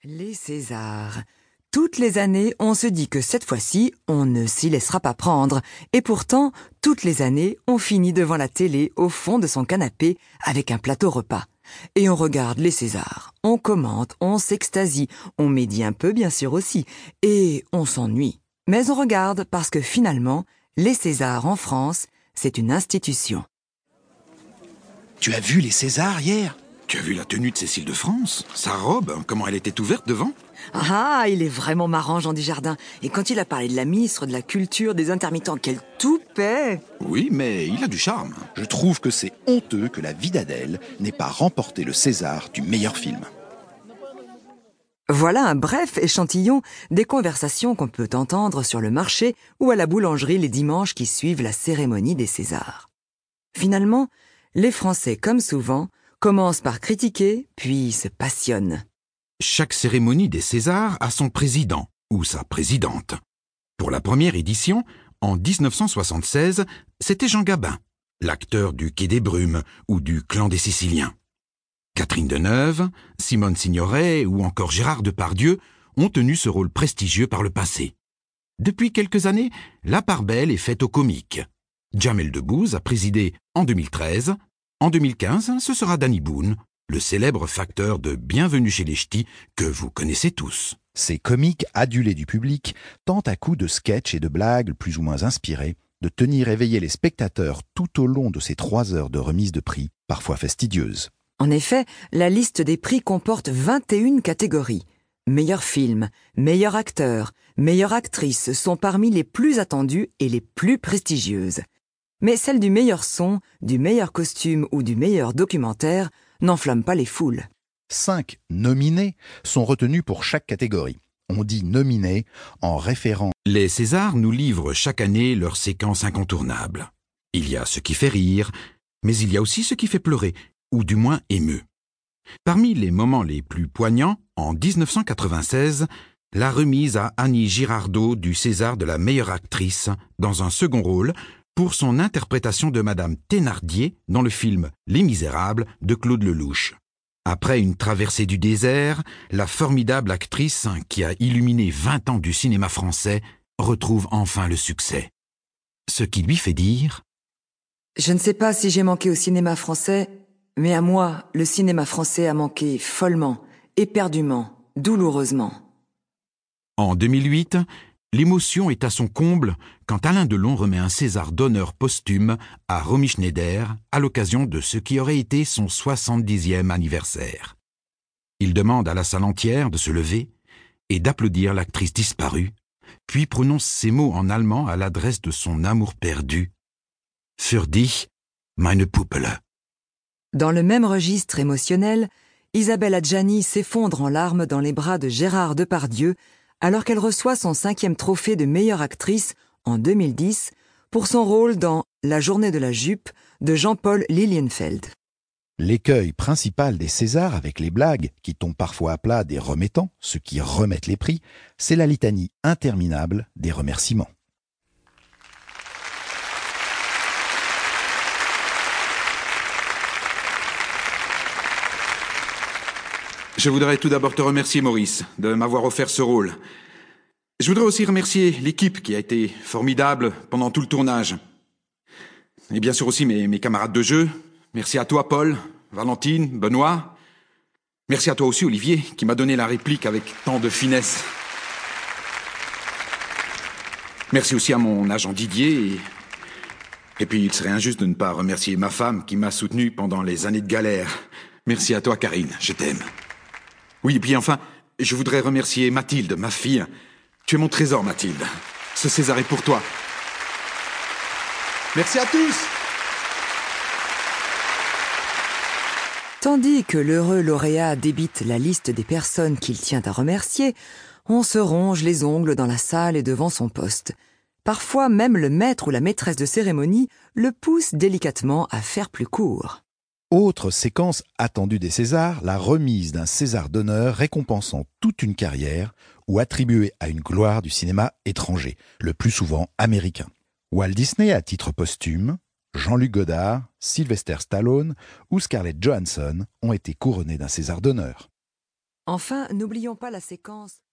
Les Césars. Toutes les années, on se dit que cette fois-ci, on ne s'y laissera pas prendre. Et pourtant, toutes les années, on finit devant la télé, au fond de son canapé, avec un plateau repas. Et on regarde les Césars. On commente, on s'extasie, on médit un peu bien sûr aussi. Et on s'ennuie. Mais on regarde parce que finalement, les Césars en France, c'est une institution. Tu as vu les Césars hier ? Tu as vu la tenue de Cécile de France ? Sa robe, comment elle était ouverte devant ? Ah, il est vraiment marrant, Jean Dujardin. Et quand il a parlé de la ministre de la Culture, des intermittents, quel toupet ! Oui, mais il a du charme. Je trouve que c'est honteux que La vie d'Adèle n'ait pas remporté le César du meilleur film. Voilà un bref échantillon des conversations qu'on peut entendre sur le marché ou à la boulangerie les dimanches qui suivent la cérémonie des Césars. Finalement, les Français, comme souvent, commencent par critiquer, puis se passionnent. Chaque cérémonie des Césars a son président ou sa présidente. Pour la première édition, en 1976, c'était Jean Gabin, l'acteur du Quai des Brumes ou du Clan des Siciliens. Catherine Deneuve, Simone Signoret ou encore Gérard Depardieu ont tenu ce rôle prestigieux par le passé. Depuis quelques années, la part belle est faite aux comiques. Jamel Debbouze a présidé en 2013. En 2015, ce sera Danny Boone, le célèbre facteur de Bienvenue chez les Ch'tis que vous connaissez tous. Ces comiques adulés du public tentent à coups de sketchs et de blagues plus ou moins inspirées de tenir éveillés les spectateurs tout au long de ces 3 heures de remise de prix, parfois fastidieuses. En effet, la liste des prix comporte 21 catégories. Meilleur film, meilleur acteur, meilleure actrice sont parmi les plus attendues et les plus prestigieuses. Mais celle du meilleur son, du meilleur costume ou du meilleur documentaire n'enflamme pas les foules. 5 nominés sont retenus pour chaque catégorie. On dit nominés en référence. Les Césars nous livrent chaque année leurs séquences incontournables. Il y a ce qui fait rire, mais il y a aussi ce qui fait pleurer, ou du moins émeut. Parmi les moments les plus poignants, en 1996, la remise à Annie Girardot du César de la meilleure actrice dans un second rôle pour son interprétation de Madame Thénardier dans le film Les Misérables de Claude Lelouch. Après une traversée du désert, la formidable actrice qui a illuminé 20 ans du cinéma français retrouve enfin le succès. Ce qui lui fait dire « Je ne sais pas si j'ai manqué au cinéma français, mais à moi, le cinéma français a manqué follement, éperdument, douloureusement. » En 2008, l'émotion est à son comble quand Alain Delon remet un César d'honneur posthume à Romy Schneider à l'occasion de ce qui aurait été son 70e anniversaire. Il demande à la salle entière de se lever et d'applaudir l'actrice disparue, puis prononce ces mots en allemand à l'adresse de son amour perdu. « Für dich, meine Puppele ». Dans le même registre émotionnel, Isabelle Adjani s'effondre en larmes dans les bras de Gérard Depardieu alors qu'elle reçoit son 5e trophée de meilleure actrice en 2010 pour son rôle dans La journée de la jupe de Jean-Paul Lilienfeld. L'écueil principal des Césars avec les blagues, qui tombent parfois à plat des remettants, ceux qui remettent les prix, c'est la litanie interminable des remerciements. Je voudrais tout d'abord te remercier, Maurice, de m'avoir offert ce rôle. Je voudrais aussi remercier l'équipe qui a été formidable pendant tout le tournage. Et bien sûr aussi mes camarades de jeu. Merci à toi, Paul, Valentine, Benoît. Merci à toi aussi, Olivier, qui m'a donné la réplique avec tant de finesse. Merci aussi à mon agent Didier. Et puis, il serait injuste de ne pas remercier ma femme qui m'a soutenu pendant les années de galère. Merci à toi, Karine, je t'aime. Oui, et puis enfin, je voudrais remercier Mathilde, ma fille. Tu es mon trésor, Mathilde. Ce César est pour toi. Merci à tous. Tandis que l'heureux lauréat débite la liste des personnes qu'il tient à remercier, on se ronge les ongles dans la salle et devant son poste. Parfois, même le maître ou la maîtresse de cérémonie le pousse délicatement à faire plus court. Autre séquence attendue des Césars, la remise d'un César d'honneur récompensant toute une carrière ou attribué à une gloire du cinéma étranger, le plus souvent américain. Walt Disney à titre posthume, Jean-Luc Godard, Sylvester Stallone ou Scarlett Johansson ont été couronnés d'un César d'honneur. Enfin, n'oublions pas la séquence